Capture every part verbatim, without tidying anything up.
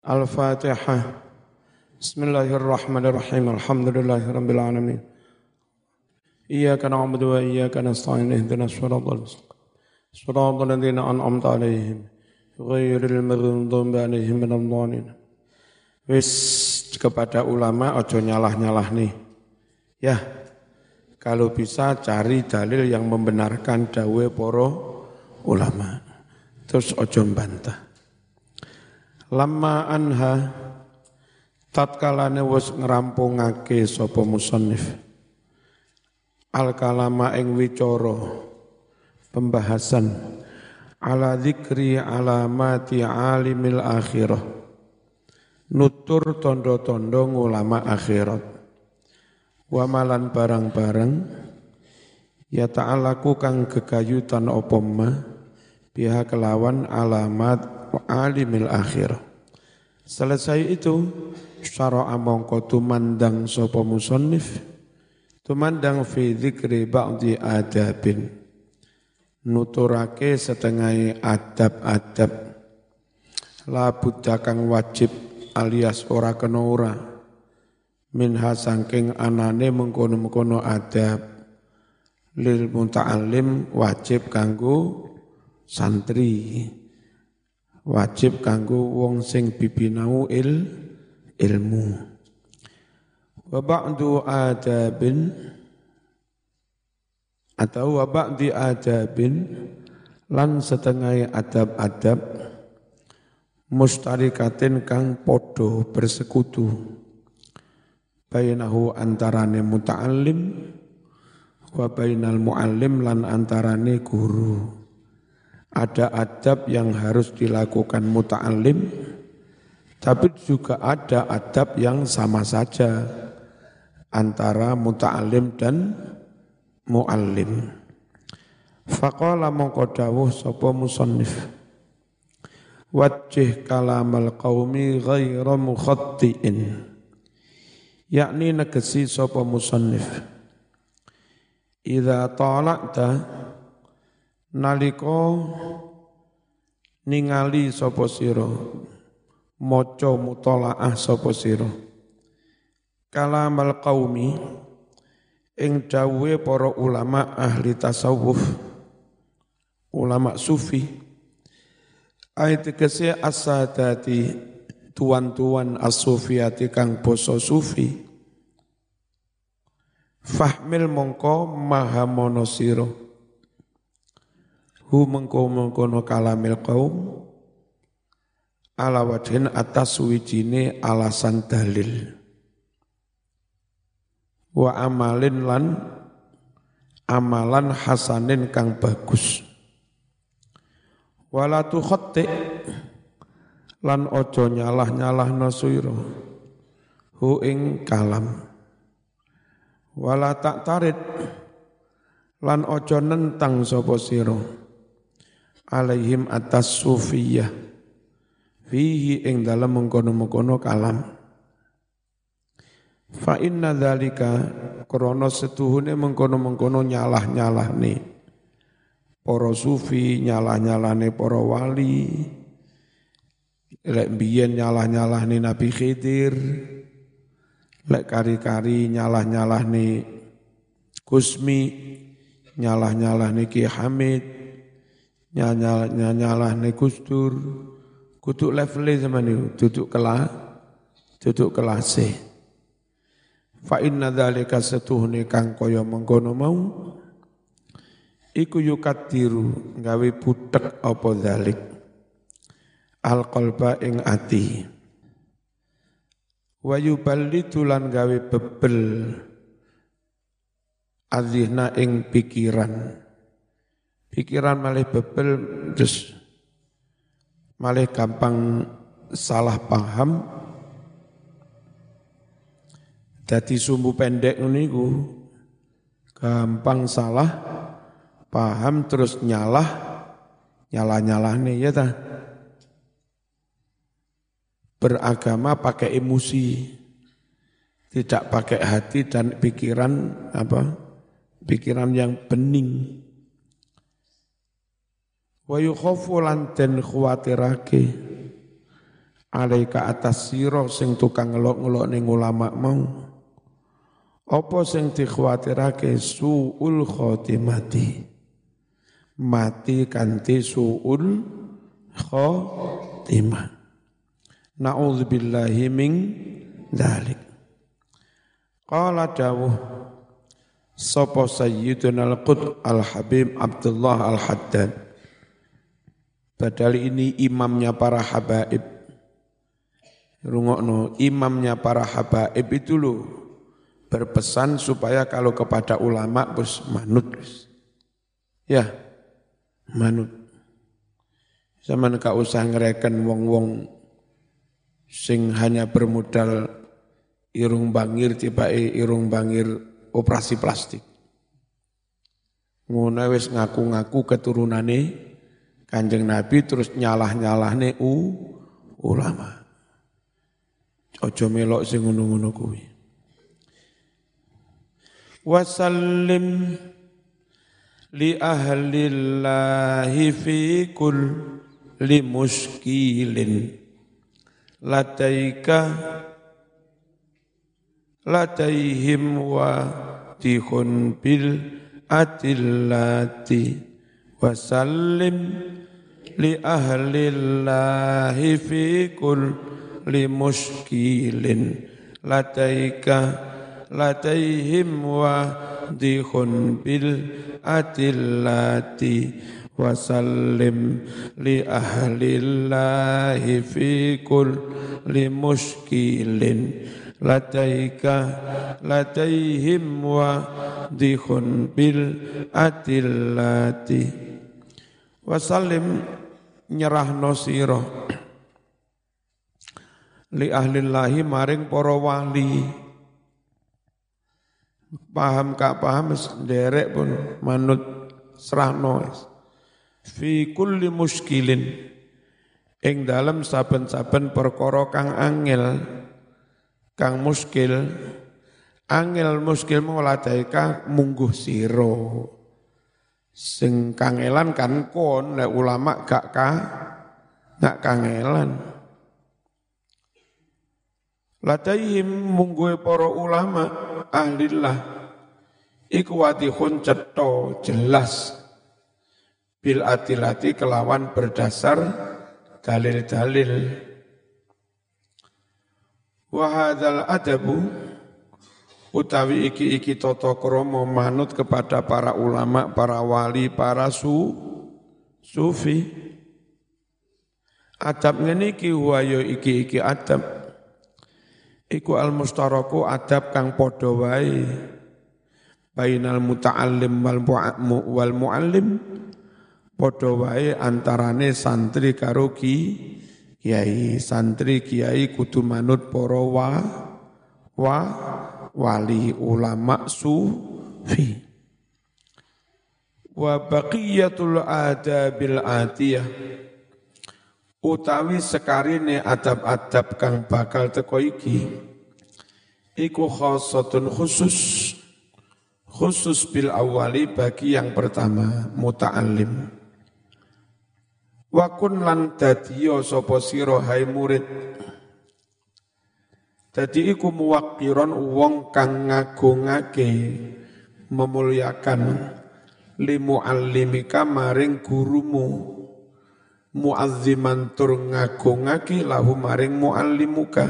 Al-Fatihah. Bismillahirrahmanirrahim. Alhamdulillahirabbil alamin. Iyyaka na'budu wa iyyaka nasta'in. Ihdinas siratal mustaqim. Siratal ladzina an'amta 'alaihim ghairil maghdubi 'alaihim waladdallin. Wis kepada ulama ojo nyalah-nyalah nih. Ya, kalau bisa cari dalil yang membenarkan dawuh para ulama. Terus ojo mbantah. Lama anha tatkalane wis ngrampungake sapa musannif al kalama ing wicara pembahasan ala dzikri alamati alimil akhirah nutur tondo-tondo ulama akhirat wa malan barang-barang ya ta'alaku kang gegayutan apa ma biha kelawan alamat alimil akhirah. Selesai itu syara'a mongko tumandang sapa musannif tumandang fi dzikri ba'di adabin nuturake setengah adab-adab la budda kang wajib alias ora kena ora minha sangking anane mengkono-mengkono adab lil muta'allim wajib kanggo santri wajib kanggo wong sing bibinau il ilmu wa ba'du adabin atau wa ba'di adabin lan setengah adab-adab mustarikatin kang podo bersekutu bainahu antarane muta'allim wa bainal muallim lan antarane guru. Ada adab yang harus dilakukan muta'allim, tapi juga ada adab yang sama saja antara muta'allim dan mu'allim. Faqala mongko dawuh sapa musannif wajjih kalamal qaumi ghaira mukhattiin, yakni negesi sapa musannif idza tala'ta nalika ningali sapa sira maca mutalaah sapa sira kalamal qaumi ing dawuhe para ulama ahli tasawuf ulama sufi ayat kese as-sadati tuan-tuan as-sufiyati kang basa sufi fahmil mongko mahamono sira hu mengkono-mengkono kalamil qaum ala wajhin atas wijine alasan dalil wa amalin lan amalan hasanin kang bagus wala tu khatti lan ojo nyalah-nyalah nasuira hu ing kalam wala tak tarid lan ojo nentang sapa sira alaihim atas sufiyah fihi ing dalam mengkono-mengkono kalam fa inna dzalika krana setuhune mengkono-mengkono nyalah-nyalahne para sufi nyalah-nyalahne para wali lek biyen nyalah-nyalahne Nabi Khidir lek kari-kari nyalah-nyalahne Kusmi nyalah-nyalahne Ki Hamid nyalah ne Gusdur kudu level zaman itu duduk kelas duduk kelas fa inna dzalika satuhne kang kaya mengkono mau iku yukadiru gawe butek apa dzalik al qalba ing ati wa yuballitu lan gawe bebel adzihna ing pikiran pikiran malih bebel terus malih gampang salah paham dadi sumbu pendek niku gampang salah paham terus nyalah nyalah-nyalah nih ya ta beragama pakai emosi tidak pakai hati dan pikiran apa pikiran yang bening wa yukhafu lan den khawatirake alaika atas sira sing tukang ngelok-ngelok ning ulama mau apa sing dikhawatirake suul khotimati mati kanthi suul khotimah na'udzubillahi min dzalik qala dawuh sapa sayyiduna al-qut al-habib Abdullah al-Haddad padahal ini imamnya para habaib rungokno imamnya para habaib itu loh berpesan supaya kalau kepada ulama bus manut ya manut zaman gak usah ngereken wong-wong sing hanya bermodal irung bangir tibae irung bangir operasi plastik ngono wis ngaku-ngaku keturunane Kanjeng Nabi terus nyalah-nyalahne u ulama ojo melok sing ngono-ngono kuwi wasallim li ahlillahi fi kulli muskilin lataika lataihim wa tihun bil atillati wasallim li ahlillahi fi kulli muskilin lataika lataihim wa dihun bil atillati wasallim li ahlillahi fi kulli muskilin lataika lataihim wa dihun bil atillati wasallim nyerahno sira li ahlillahi maring para wali paham gak paham derek pun manut serahno fi kulli muskilin ing dalem saben-saben perkara kang angel kang muskil angel muskil muladaika mungguh sira sing kangelan kan kon nek ulama gak ka gak kangelan lataihim mungguhe para ulama ahlillah iku watihun cetha jelas bil atilati kelawan berdasar dalil-dalil wa hadzal adabu utawi iki-iki tata krama manut kepada para ulama, para wali, para su sufi adab ngene iki wa ya iki-iki adab iku al-mustaraku adab kang padha wae bainal muta'allim wal mu'allim padha wae antarane santri karo ki kiai santri kiai kudu manut para wa wa wali ulama sufi wa baqiyatul adabil atiyah utawi sekarine adab-adab kang bakal teko iki iku khassatun khusus khusus bil awali bagi yang pertama muta'allim wa kun lan dadiya sapa sira hai murid dadi iku muwaqqiron wong kang ngagungake memulyakan li muallimika maring gurumu muazziman tur ngagungake lahu maring muallimuka.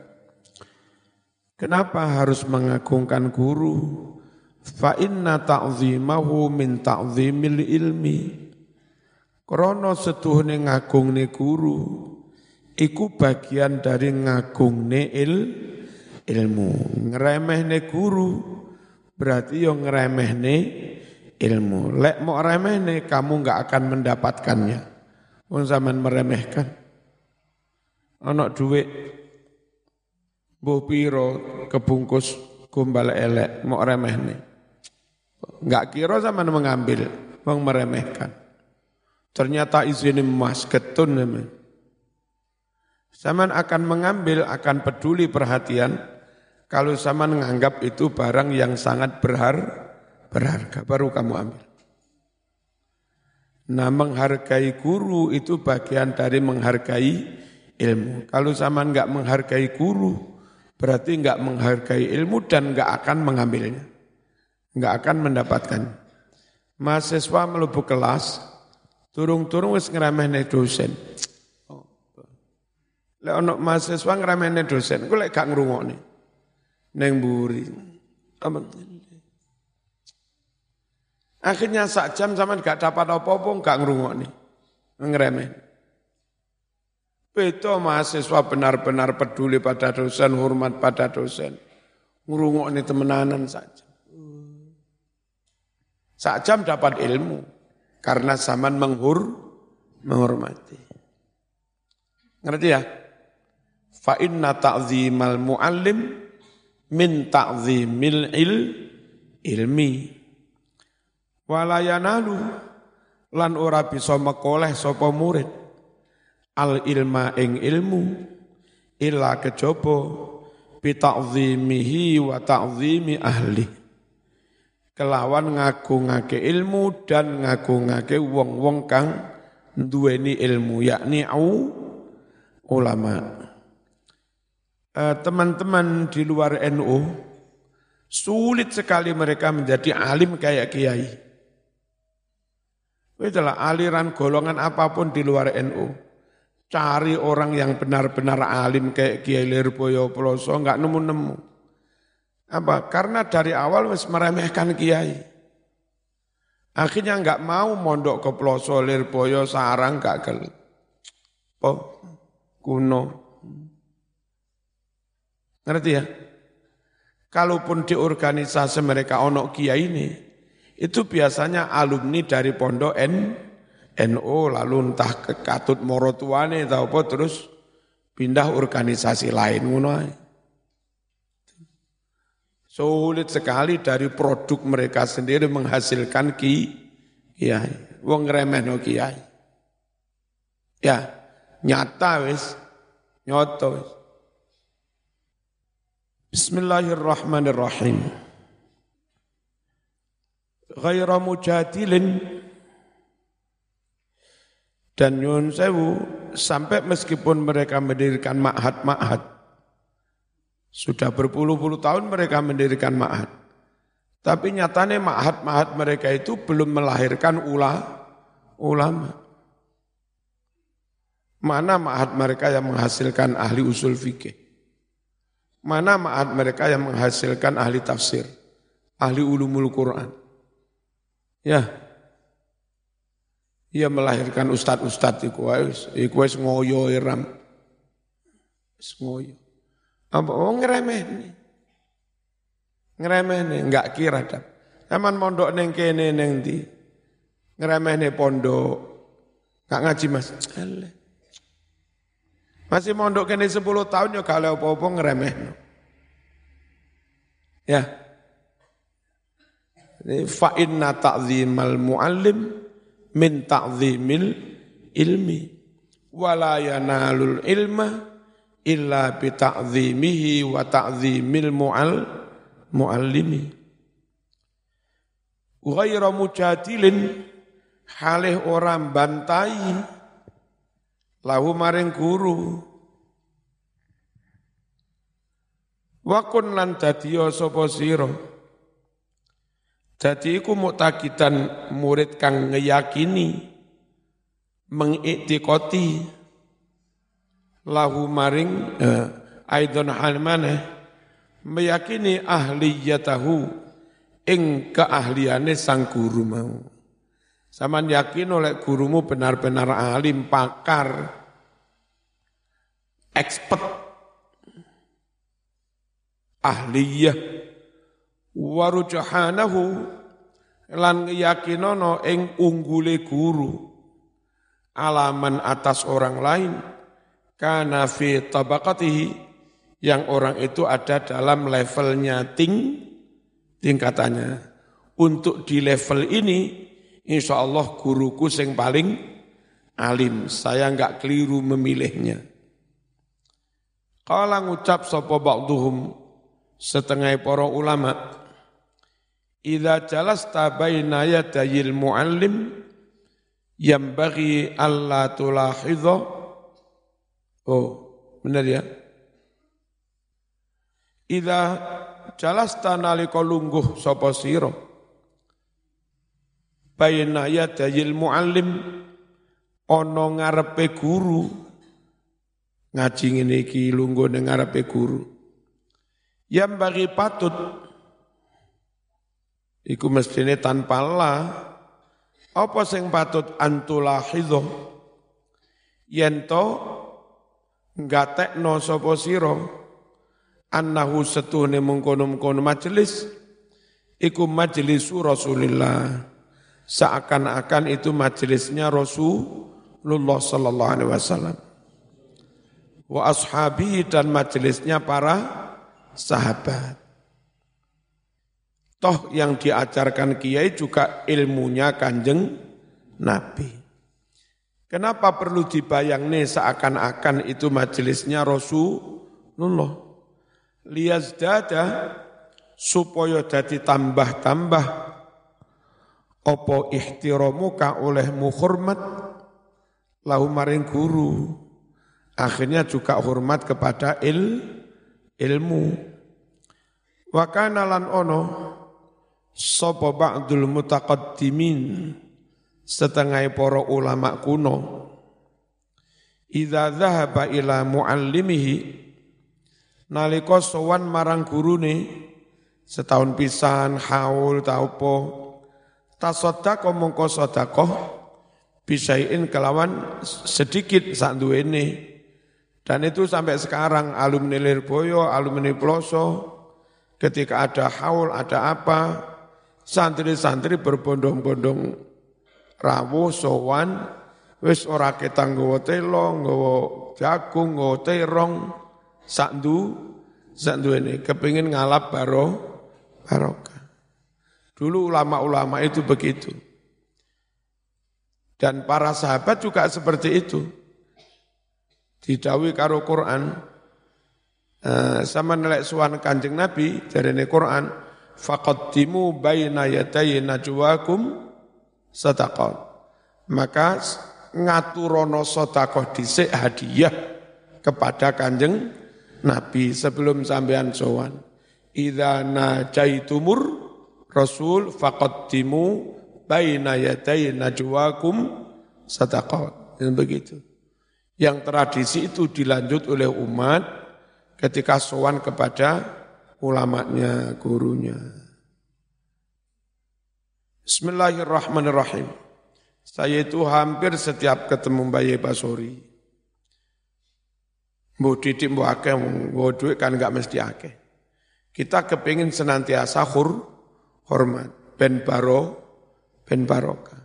Kenapa harus mengagungkan guru? Fa inna ta'zimahu min ta'zimil ilmi. Krana setuhune ngagungne guru iku bagian dari ngagungne il ilmu. Ngremehne guru berarti yo ngremehne ilmu. Lek mau remehne kamu enggak akan mendapatkannya. Wong zaman meremehkan. Ana dhuwit mbuh pira kebungkus gombal elek mok remehne. Enggak kira zaman mengambil, wong meremehkan. Ternyata izin emas ketun namanya. Zaman akan mengambil, akan peduli perhatian kalau zaman menganggap itu barang yang sangat berhar, berharga baru kamu ambil. Nah, menghargai guru itu bagian dari menghargai ilmu. Kalau zaman enggak menghargai guru, berarti enggak menghargai ilmu dan enggak akan mengambilnya. Enggak akan mendapatkan. Mahasiswa mlebu kelas, turung-turung wis ngremehne dosen. Lek ono mahasiswa ngremehne dosen, ku lek gak ngrungokne. Ning mburi. Akhirnya sak jam sampean gak dapat apa-apa, gak ngrungokne. Ngremeh. Beto mahasiswa benar-benar peduli pada dosen, hormat pada dosen. Ngrungokne temenanan saja. Sak jam dapat ilmu karena zaman menghur menghormati. Ngerti ya? Fa inna ta'zimal muallim min ta'zimil il ilmi. Wala yanalu lan ora bisa mekoleh sapa murid al ilma ing ilmu illa kejaba bi ta'zimihi wa ta'zimi ahli. Kelawan ngagungake ilmu dan ngagungake wong-wong kang duweni ilmu, yakni au ulama. Eh, teman-teman di luar N U, sulit sekali mereka menjadi alim kayak kiai. Itulah aliran golongan apapun di luar N U. Cari orang yang benar-benar alim kayak Kiai Lirboyo Ploso, enggak nemu-nemu. Apa? Karena dari awal wis meremehkan kiai. Akhirnya enggak mau mondok ke Ploso, Lirboyo, Sarang, gak gel. Oh, kuno. Ngerti ya? Kalaupun di organisasi mereka ono kiai ini, itu biasanya alumni dari pondok N, NU, lalu entah ke Katut Morotuane atau apa, terus pindah organisasi lain. Ngono ae. Sulit sekali dari produk mereka sendiri menghasilkan ki, kiai. Wong ngremehno kiai. Ya, nyata wis, nyoto wis. Bismillahirrahmanirrahim. Ghaira mujadilin dan nyun sewu sampai meskipun mereka mendirikan ma'had-ma'had, sudah berpuluh-puluh tahun mereka mendirikan ma'had, tapi nyatanya ma'had-ma'had mereka itu belum melahirkan ula, ulama. Mana ma'had mereka yang menghasilkan ahli usul fikih? Mana ma'had mereka yang menghasilkan ahli tafsir, ahli ulumul Quran? Ya, ia melahirkan ustad-ustad iku wis, iku wis ngoyo iram, wis ngoyo. Apa oh ngremehne, ngremehne, enggak kira dah. Zaman mondok neng kene neng di, ngremehne pondok, enggak ngaji mas, Alah. Masih mondok kene sepuluh tahun ya kalau apa-apa ngremehno. Ya. Fa inna ta'zimal muallim min ta'zimil ilmi wala yanalul ilma illa bi ta'zimihi wa ta'zimil mu'al muallimi ghaira mujadilin halih orang bantai lahu maring guru wa kun lan dadiya sapa sira. Jadi iku muktakidan murid kang ngeyakini mengiktikoti lahu maring eh, aidon hal maneh meyakini ahliyatahu ing keahliane sang guru mau. Saman yakin oleh gurumu benar-benar alim, pakar, expert, ahliyah, warujuhanahu lan yakinono ing unggule guru alaman atas orang lain kana fi tabaqatihi yang orang itu ada dalam levelnya ting tingkatannya. Untuk di level ini insya Allah guruku sing paling alim, saya enggak keliru memilihnya. Kala ngucap sapa ba'duhum setengah para ulama, idza jalasta baina yadayil muallim yambaghi alla tulahidha Oh, benar ya? Idza jalasta nalika lungguh sapa sira baina yadayil muallim ana ngarepe guru ngaji ngene iki lungguh ning ngarepe guru yang bagi patut iku mestine tanpa la apa sing patut antulahidho yen to ngatekno sapa sira annahu setuhne mengkono-mengkono majelis iku majlisu Rasulillah seakan-akan itu majelisnya Rasulullah sallallahu alaihi wasallam wa ashabi dan majelisnya para sahabat. Toh yang diajarkan kiai juga ilmunya Kanjeng Nabi. Kenapa perlu dibayangne seakan-akan itu majelisnya Rasulullah? Liyazdada supaya dadi tambah-tambah apa ihtiramuka olehmu hormat lahu maring guru. Akhirnya juga hormat kepada il, ilmu. Wa kana lan ono sapa ba'dul mutaqaddimin setengah para ulama kuno idza dhahaba ila muallimihi nalika sowan marang gurune setahun pisan haul ta apa tasaddaq mongko sedekah bisain kelawan sedikit sak duwene dan itu sampai sekarang alumni Lirboyo alumni Ploso ketika ada haul ada apa santri-santri berbondong-bondong rawuh sowan wis ora ketang nggawa telo nggawa jagung nggawa terong sakdu sakduene kepengin ngalap baro barokah. Dulu ulama-ulama itu begitu. Dan para sahabat juga seperti itu. Didhawuhi karo Quran uh, sama nelek suwan Kanjeng Nabi jarene Quran faqaddimu baina yaday najwakum sadaqat. Maka ngaturono sedekah dhisik hadiah kepada Kanjeng Nabi sebelum sampean sowan. Idza najaitumur rasul faqaddimu baina yaday najwakum sadaqat. Dan begitu. Yang tradisi itu dilanjut oleh umat ketika sowan kepada ulamanya, gurunya. Bismillahirrahmanirrahim. Saya itu hampir setiap ketemu Mbak Basori. Mbok didik mbok akeh mbok duit kan enggak mesti akeh. Kita kepingin senantiasa hur, hormat, ben baro, ben barokah.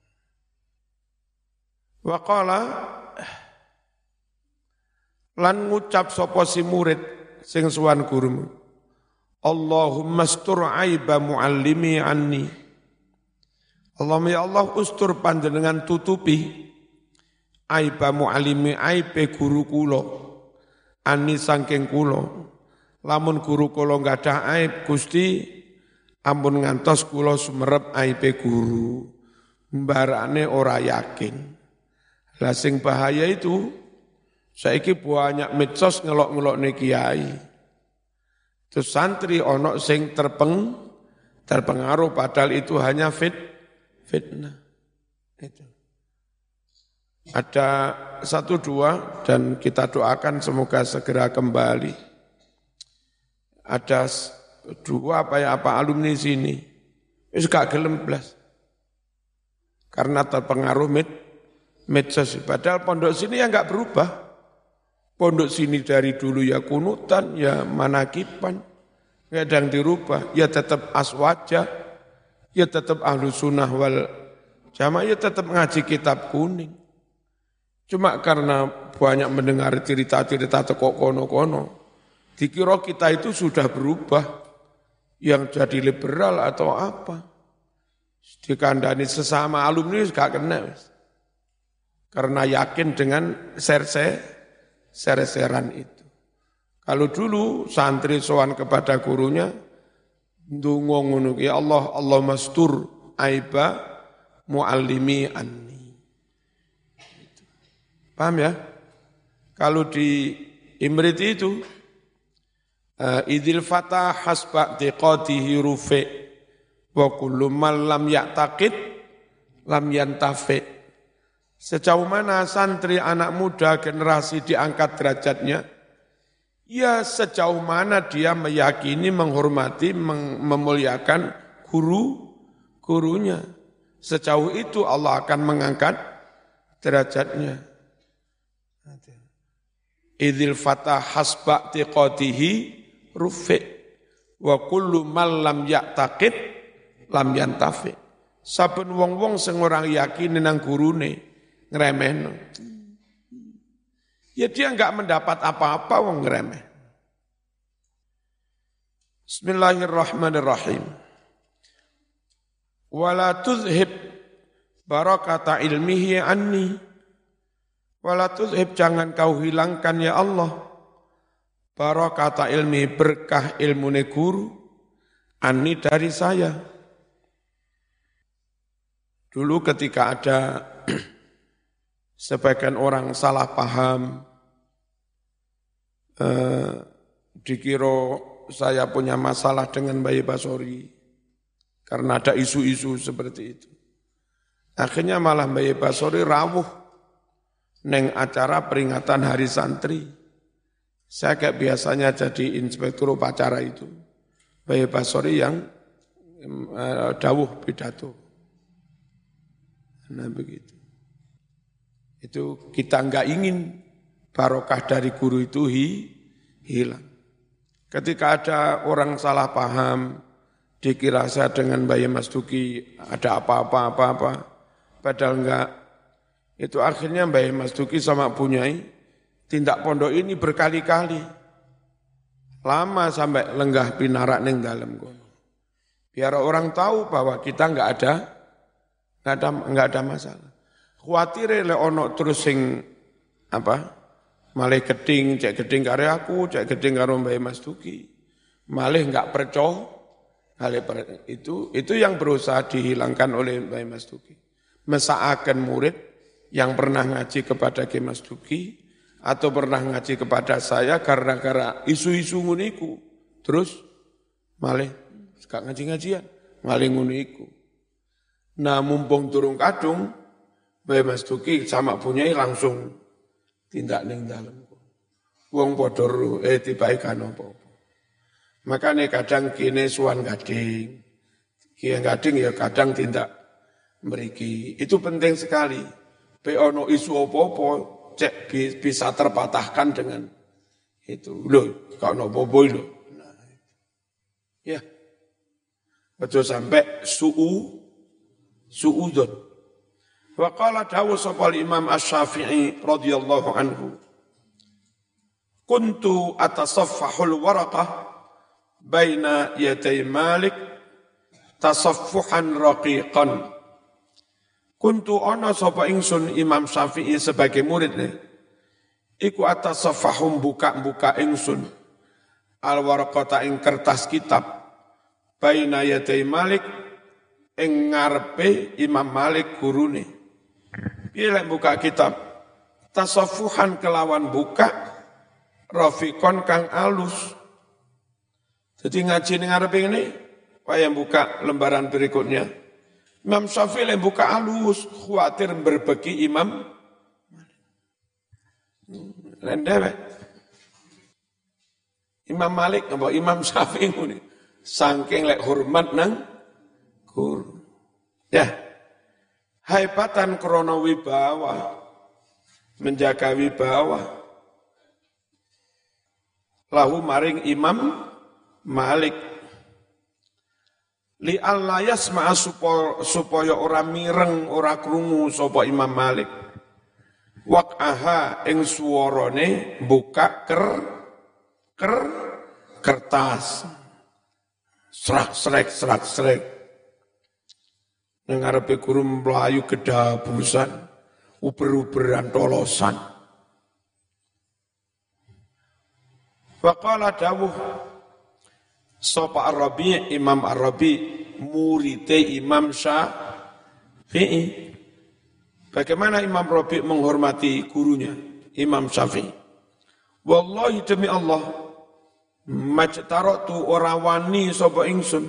Wa qala lan ngucap sapa si murid sing suwan gurumu. Allahumma astur aiba muallimi anni. Allahumma ya Allah ustur panjenengan tutupi aiba muallimi aibe guru kula. Ani sangking kulo, lamun guru kulo nggak ada aib, Gusti, ampun ngantos kulo sumerep aibe guru, mbarane ora yakin. Lah sing bahaya itu, saiki banyak medsos ngelok-ngelok ne kiai. Terus santri ono sing terpeng, terpengaruh padahal itu hanya fit, fitnah. Itu. Ada satu dua dan kita doakan semoga segera kembali. Ada dua apa ya apa alumni sini, itu gak gelem blas. Karena terpengaruh med, medsos. Padahal pondok sini ya gak berubah. Pondok sini dari dulu ya kunutan, ya manakipan, kadang dirubah. Ya tetap aswaja, ya tetap ahlu sunnah wal jamaah, ya tetap ngaji kitab kuning. Cuma karena banyak mendengar cerita-cerita tekok kono-kono, dikira kita itu sudah berubah, yang jadi liberal atau apa. Dikandani sesama alumni gak kena. Karena yakin dengan ser-seran itu. Kalau dulu santri sowan kepada gurunya, ndonga ngono ya Allah, Allah mastur aiba muallimi anni. Paham ya? Kalau di Imrit itu, uh, idil fatah hasba tiqatihi rufi wa kullu man lam ya'taqid lam yantafi. Sejauh mana santri anak muda generasi diangkat derajatnya, ya sejauh mana dia meyakini, menghormati, mem- memuliakan guru, gurunya. Sejauh itu Allah akan mengangkat derajatnya. Idzil fatah hasba tiqatihi rufi wa kullu man lam ya'taqid lam yantafi. Saben wong-wong sing ora yakin nang gurune ngremehno. Ya dia enggak mendapat apa-apa wong ngremeh. Bismillahirrahmanirrahim. Wala tuzhib barakata ilmihi anni. Wala tuzhib, jangan kau hilangkan ya Allah barakata ilmi, berkah ilmune guru, anni dari saya. Dulu ketika ada sebagian orang salah paham, eh, dikira saya punya masalah dengan Bayi Basori, karena ada isu-isu seperti itu. Akhirnya malah Bayi Basori rawuh neng acara peringatan Hari Santri. Saya kayak biasanya jadi inspektur upacara itu. Bayi Basori yang uh, dawuh pidato. Nah begitu. Itu kita enggak ingin barokah dari guru itu hi, hilang. Ketika ada orang salah paham, dikira saya dengan Bayi Mas Duki ada apa-apa, apa-apa, padahal enggak. Itu akhirnya Mbak Mas Duki sama Bunyai tindak pondok ini berkali-kali. Lama sampai lenggah pinarak ning dalem kono. Biar orang tahu bahwa kita enggak ada enggak ada enggak ada masalah. Khawatir le ono terus sing apa? Malih geding, cek geding karo aku, cek geding karo Mbak Mas Duki. Malih enggak percaya. Itu itu yang berusaha dihilangkan oleh Mbak Mas Duki. Mesaaken murid yang pernah ngaji kepada Ki Mas Duki atau pernah ngaji kepada saya gara-gara isu-isu nguniku, terus malih gak ngaji-ngajian, malih nguniku. Nah mumpung turun kadung, Bae Mas Duki sama Bunyai langsung tindak ning dalem. Wong padha eh dibaikan apa-apa. Makanya kadang kene suwan gading, ki gading ya kadang tindak mriki. Itu penting sekali. Be ono isu apa-apa, cek bisa terpatahkan dengan itu. Loh, gak ono apa-apa lho. Nah, ya. Betul sampai su'u, su'udun. Wa qala dawu sapa Imam Asy-Syafi'i radhiyallahu anhu. Kuntu atasaffahul waraqah baina yaday Malik tasaffuhan raqiqan. Kuntu ana sapa ingsun Imam Syafi'i sebagai muridnya. Iku atasafahum buka-buka ingsun al-waraqata ing kertas kitab baina yaday Malik ing ngarepe Imam Malik gurune. Piye lek buka kitab? Tasaffuhan kelawan buka rafiqon kang alus. Jadi ngaji ning ngarepe ngene, wayah buka lembaran berikutnya. Imam Syafi'i yang buka alus, khawatir berbagi Imam Lendewe. Imam Malik, apa Imam Syafi'i ini, saking lek hormat nang guru. Ya, haibatan krono wibawa, menjaga wibawa. Lahu maring Imam Malik. Li alla yasma'a supaya ora mireng ora krungu sapa Imam Malik waqaha ing suwarane buka ker ker kertas serak srek serak srek nang ngarepe guru mlayu gedabusan uber-uberan tolosan. Faqala dawuh sapa Ar-Rabi' Imam Ar-Rabi' muridé Imam Syafi'i. Bagaimana Imam Rabi' menghormati gurunya Imam Syafi'i? Wallahi demi Allah, majtaratu ora wani sapa ingsun,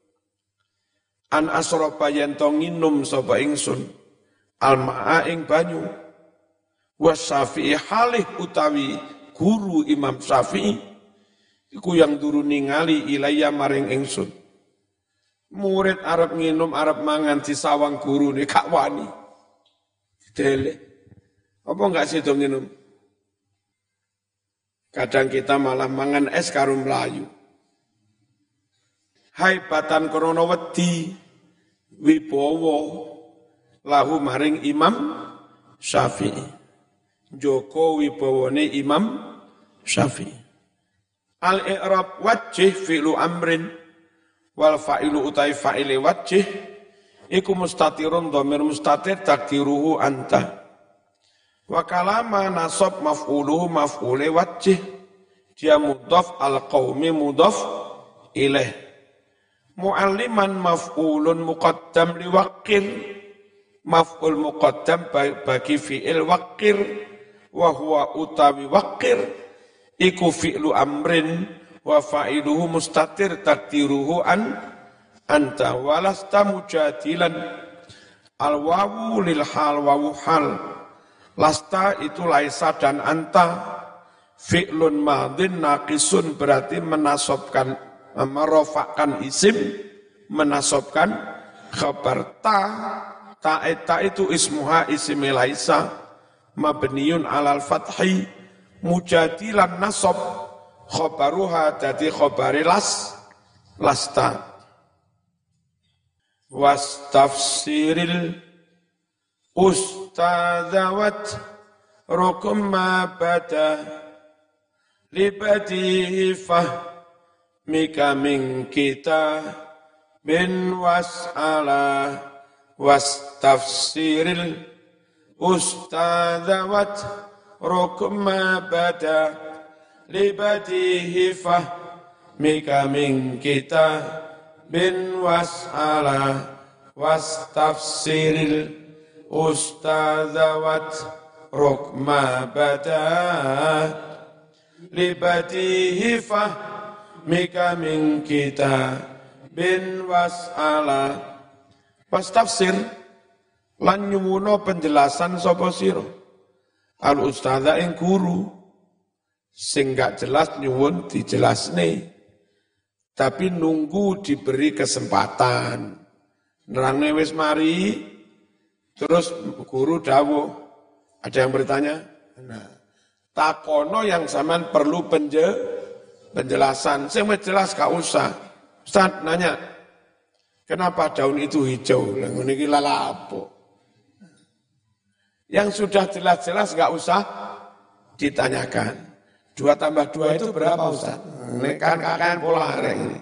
an asroba yen to nginum sapa ingsun, almaa ing banyu, wasyafi'i halih utawi guru Imam Syafi'i, iku yang duru ningali ilaya maring ingsun. Murid Arab nginum, Arab mangan di sawang guru ini, gak wani. Dele. Apa enggak sido nginum? Kadang kita malah mangan es karo mlayu. Haibatan krana wedi wibawa lahu maring Imam Syafi'i. Joko wibawane Imam Syafi'i. Al-i'rab wajih fi'lu amrin wal fa'ilu utai fa'ile wajih iku mustatirun dhamir mustatir takdiruhu anta. Wa kalama nasab maf'uluhu maf'ule wajih, dia mudhaf al-qaumi mudhaf ilaih. Mu'alliman maf'ulun muqaddam liwaqir, maf'ul muqaddam bagi fi'il waqir, wa huwa utawi waqir iku fi'lu amrin wa fa'iluhu mustatir takdiruhu an anta walasta mujadilan. Al-wawu lil hal wawu hal, lasta itu laisa dan anta, fi'lun madin naqisun berarti menasobkan, merofakkan isim, menasobkan khabar ta, ta eta itu ismuha ismi laisa, mabniun alal fathi, mujadilan nasab, khabaruha jadi khabari las, lasta. Wastafsiril ustadzawat rukum ma bada libadihi fahmika min kita bin was'ala. Wastafsiril ustadzawat rukum ma bada libadihi fahmika min kita bin was'ala. Wastafsiril ustadzawat rukma bada libadihi fahmika min kita bin was'ala. Wastafsir lan nyuwuna penjelasan sapa sira al ustadza ing guru sing gak jelas nyuwun dijelasne, tapi nunggu diberi kesempatan. Nerangne wis mari, terus guru dawuh. Ada yang bertanya? Nah, takono yang zaman perlu penje, penjelasan. Sing wis jelas gak usah. Ustaz nanya, kenapa daun itu hijau? Lah ngene iki lha apa? Yang sudah jelas-jelas gak usah ditanyakan. Dua tambah dua itu berapa Ustaz? Ini kan kakak pola ini.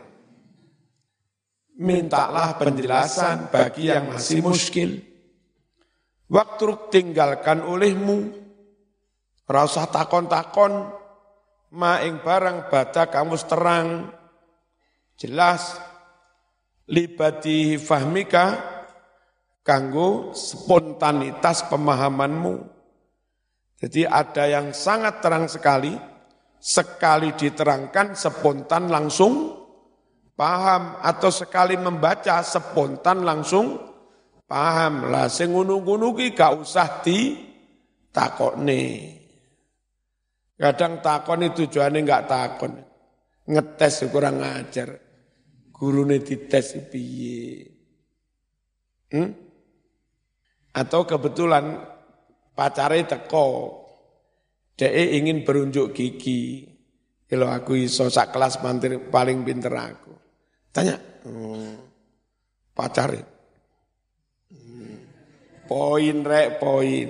Mintalah penjelasan bagi yang masih muskil. Waktu tinggalkan olehmu, rasa takon-takon, maing barang bada kamu terang, jelas, libati fahmika, kanggo spontanitas pemahamanmu. Jadi ada yang sangat terang sekali, sekali diterangkan spontan langsung paham, atau sekali membaca spontan langsung paham. Lah sing ngono-ngono ki gak usah ditakokne. Kadang takon itu tujuane gak takon. Ngetes kurang ajar. Gurune dites piye? Hmm? Atau kebetulan pacare teko. Dhek ingin berunjuk gigi. Kalau aku iso sak kelas mantir paling pinter aku. Tanya, hmm, pacar hmm, poin rek poin,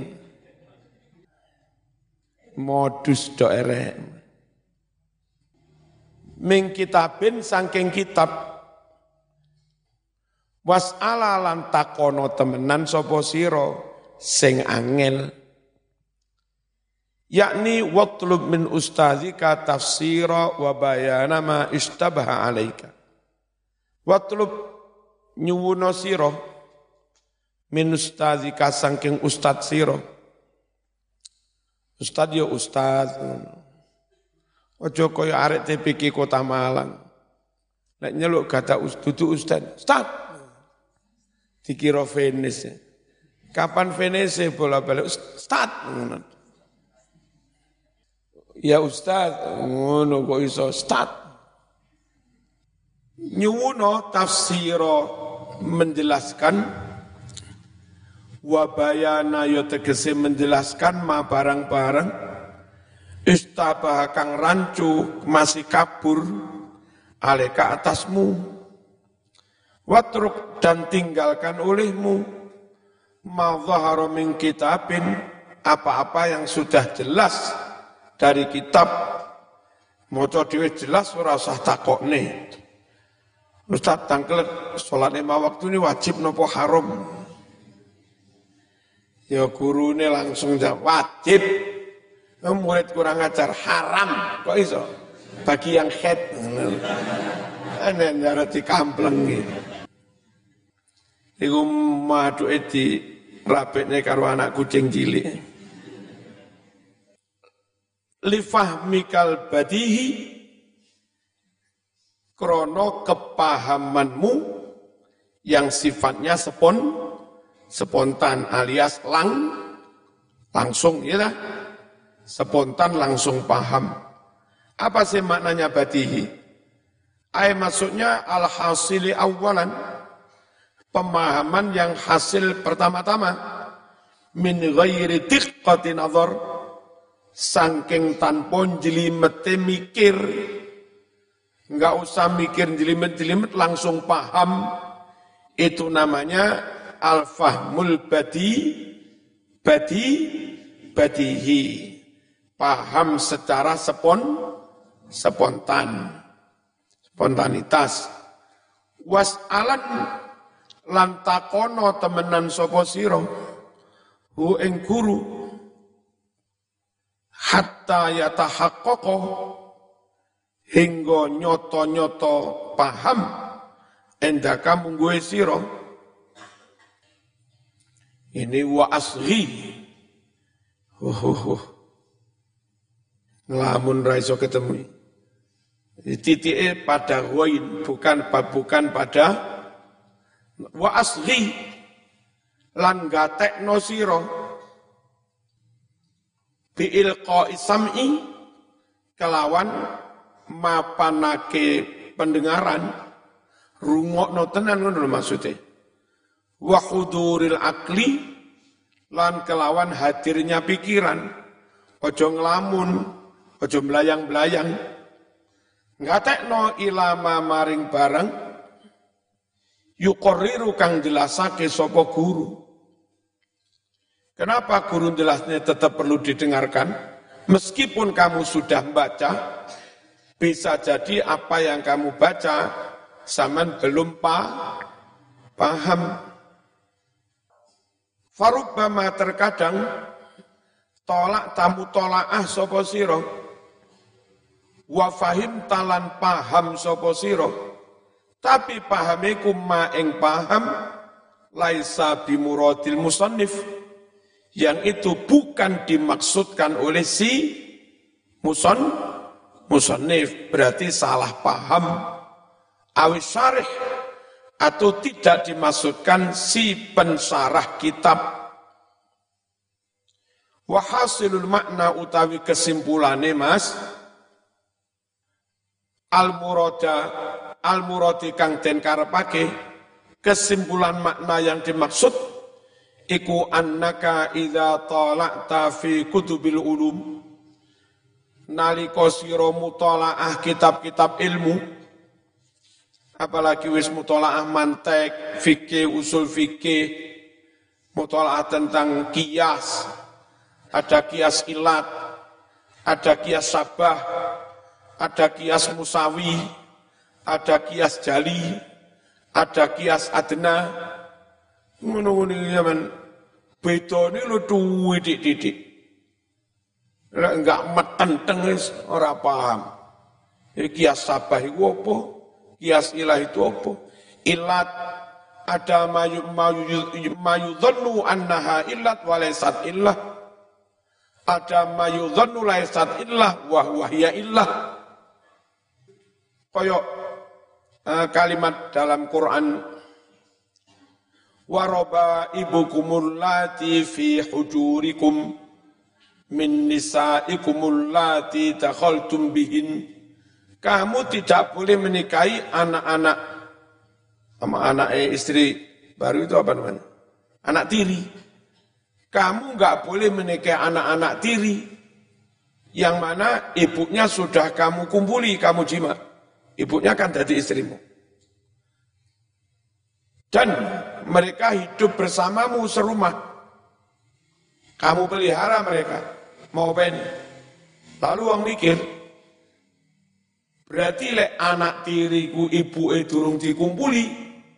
modus do erek. Ming kitabin sangking kitab, was'ala lan takono temenan sapa sira sing angel. Yakni watlub min ustadzika tafsira wa bayana ma istabaha alaika. Watlub nyuwuna sira min ustadzika sangking ustadz sira. Ustadz ya ustadz, Ojo kaya arek T P K Kota Malang. Nek nyeluk kata dudu ustaz, start. Dikira Venice. Kapan Venice bola-balik start. Ya ustaz, ngono kok iso start. Nyuwuno tafsiro menjelaskan wabayana yo tegese menjelaskan ma barang-barang istabah kang rancu masih kabur aleka atasmu watruk dan tinggalkan olehmu ma dhahara min kitabin apa-apa yang sudah jelas dari kitab maca dhewe jelas ora usah takokne Ustaz tangkel salat lima waktu ini wajib nopo haram ya gurune langsung jawab wajib murid kurang ajar haram kok iso bagi yang head ana ndara dikampleng iki iku maduke di rapetne karo anak kucing cilik li fahmikal badihi krono kepahamanmu yang sifatnya sepon spontan alias lang langsung ya dah spontan langsung paham. Apa sih maknanya badihi? Ay maksudnya al-hasili awalan pemahaman yang hasil pertama-tama min ghairi diqqati nazar saking tanpa jlimete mikir enggak usah mikir jelimet-jelimet langsung paham itu namanya al-fahmul badi badi badihi paham secara sepon spontan spontanitas was'alan lan takono temenan sapa sira hu ing guru hatta yatahaqqaqa hingga nyoto-nyoto paham endaka mungguhe sira ini wa asghi oh, oh, oh. Ngelamun ra iso ketemu titike pada ghain bukan bukan pada wa asghi lan gatekno sira bi ilqa sam'i kelawan mapanake pendengaran rungokno tenan ngono maksudnya wa huduril akli lan kelawan hadirnya pikiran ojo ngelamun ojo melayang-melayang ngatekno ilama maring barang yuqarriru kang jelasake sapa guru. Kenapa guru jelasnya tetap perlu didengarkan meskipun kamu sudah membaca bisa jadi apa yang kamu baca zaman belum pa, paham. Farubbama terkadang tolak tamu tolaah sapa sira wa fahim talan paham sapa sira tapi pahamiku ma ing paham laisa bimuradil musannif yang itu bukan dimaksudkan oleh si muson musannif berarti salah paham awis syarih atau tidak dimaksudkan si pensarah kitab. Wahasilul makna utawi kesimpulannya mas al-murada al-muradi kang den karepake kesimpulan makna yang dimaksud iku annaka idza tala'ta fi kutubil ulum nalika sira mutalaah kitab-kitab ilmu apalagi wis mutalaah mantek, fikih, usul fikih, mutalaah tentang kias, ada kias ilat, ada kias sabah, ada kias musawi, ada kias jali, ada kias adna. Ngono-ngono zaman beda ini lu duwe dik-dik. Enggak metenteng ora paham. Kias sabah iku apa? Kias ilah itu apa? Ilat ada mayu mayu mayudhannu annaha illat walaysat illah. Ada mayudhannu laisat illah wa huwa hiya illah. Koyok uh, kalimat dalam Quran waroba ibukumul lati fi hujurikum min nisaikumul lati takhaltum bihin. Kamu tidak boleh menikahi anak-anak sama anak eh, istri baru itu apa namanya? Anak tiri. Kamu enggak boleh menikahi anak-anak tiri yang mana ibunya sudah kamu kumpuli, kamu jima. Ibunya kan jadi istrimu. Dan mereka hidup bersamamu serumah. Kamu pelihara mereka. Mau ben. Lalu orang mikir, berarti lek anak tiriku ibu e durung dikumpuli.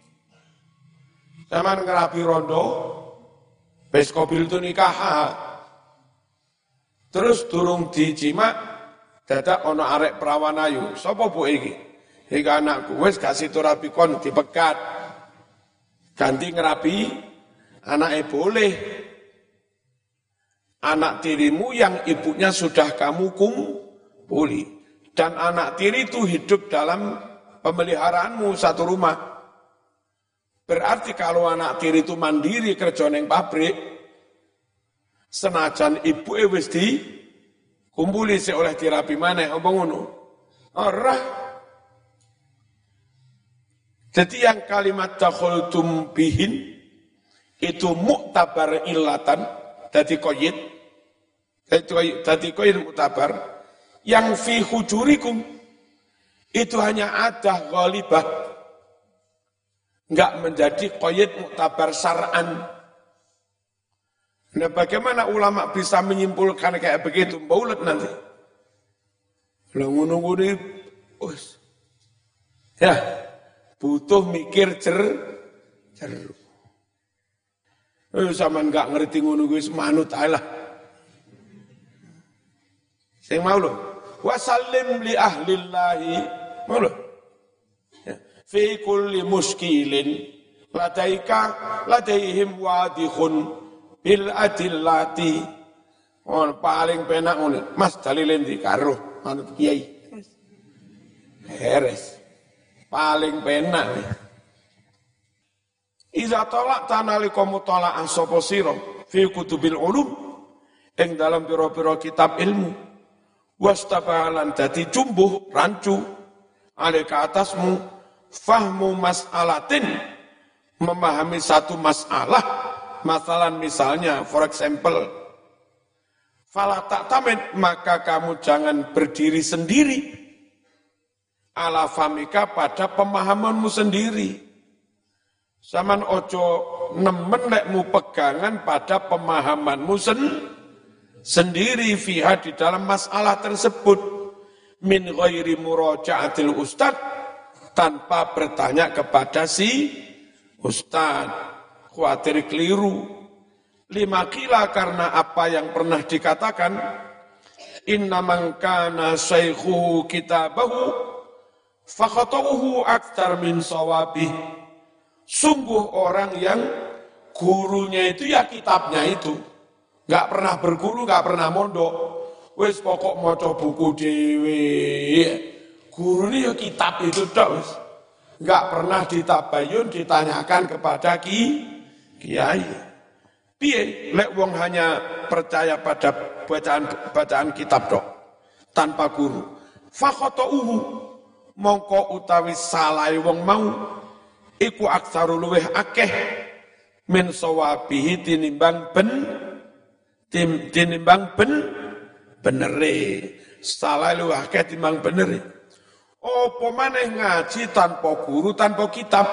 Zaman ngerapi rondo, wis kobil itu nikah. Terus durung dijima, dadak ono arek perawan ayu. Sapa bu iki? Iki anakku, wis kasih turapi kon dipegat. Ganti ngerapi, anaknya boleh. Anak tirimu yang ibunya sudah kamu kumpuli. Dan anak tiri itu hidup dalam pemeliharaanmu satu rumah. Berarti kalau anak tiri itu mandiri kerja neng pabrik, senajan ibu e wis di kumpuli oleh dirapi maneh apa ngono. Ora. Jadi yang kalimat takhaltum bihin itu muktabar illatan, dadi qayyid. Dadi qayyid muktabar yang fi hujurikum itu hanya ada ghalibah. Enggak menjadi qayyid muktabar syar'an. Nah, bagaimana ulama bisa menyimpulkan kayak begitu? Baulet nanti. Lah ngono-ngono wis. Ya, butuh mikir cer cer. Eh sampean enggak ngerti ngono kuwi manut ae lah. Sing mau lho, wasallim li ahlillahi. Mau lho. Fi kulli muskilin ladaika ladaihim wadihun bil adillati. On paling penak ngono. Mas dalile ndi karo manut kiai. Heres. Paling penak. Iza tolak tanalika mutala'ah sapa sira fi kutubil ulum ing dalam pira-pira kitab ilmu wastabalan dadi jumbuh rancu alika atasmu fahmu mas'alatin memahami satu masalah masalan misalnya for example fala ta'tamid maka kamu jangan berdiri sendiri ala famika pada pemahamanmu sendiri. Saman ojo nemen lekmu pegangan pada pemahamanmu sen, sendiri fiha di dalam masalah tersebut min ghairi muraja'atil ustad tanpa bertanya kepada si ustad khawatir keliru lima kila karena apa yang pernah dikatakan inna man kana syaikhuhu kitabahu fakhatahu aktsar min sawabih. Sungguh orang yang gurunya itu ya kitabnya itu. Enggak pernah berguru, enggak pernah mondok. Wis pokok maca buku dhewe. Gurune ya kitab itu tok wis. Enggak pernah ditabayun ditanyakan kepada ki kiai. Piye lek wong hanya percaya pada bacaan bacaan kitab tok tanpa guru. Fakhotauhu mongko utawi salah wong mau iku aksaru luweh akeh min sawabihi tinimbang ben tim tinimbang ben benere salah luweh akeh tinimbang benere opo maneh ngaji tanpa guru tanpa kitab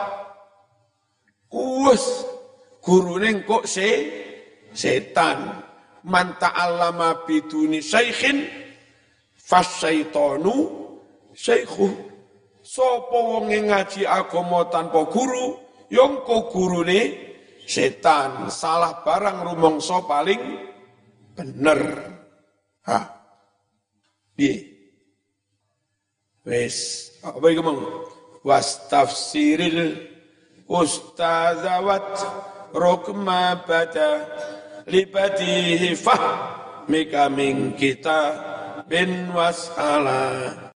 wes gurune kok se setan man ta'allama biduni syaikhin fasyaitanu syaikhu. Sapa wong ngaji agama tanpa guru, yo engko gurune setan, salah barang rumangsa paling bener. Ha. Piye? Wes, apa iki mong? Was tafsiril ustazawat rukma bada libatihi fah mika min kita bin was'ala